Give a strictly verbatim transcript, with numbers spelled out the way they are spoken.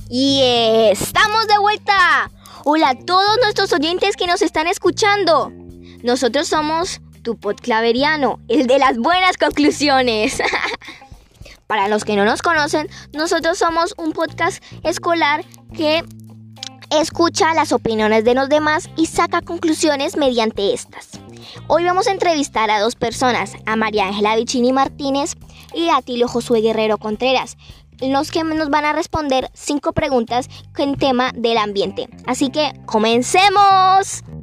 Y estamos de vuelta. Hola a todos nuestros oyentes que nos están escuchando. Nosotros somos tu podclaveriano, el de las buenas conclusiones. Para los que no nos conocen, nosotros somos un podcast escolar que escucha las opiniones de los demás y saca conclusiones mediante estas. Hoy vamos a entrevistar a dos personas, a María Ángela Vicini Martínez y a Atilio Josué Guerrero Contreras, los que nos van a responder cinco preguntas en tema del ambiente. Así que ¡comencemos!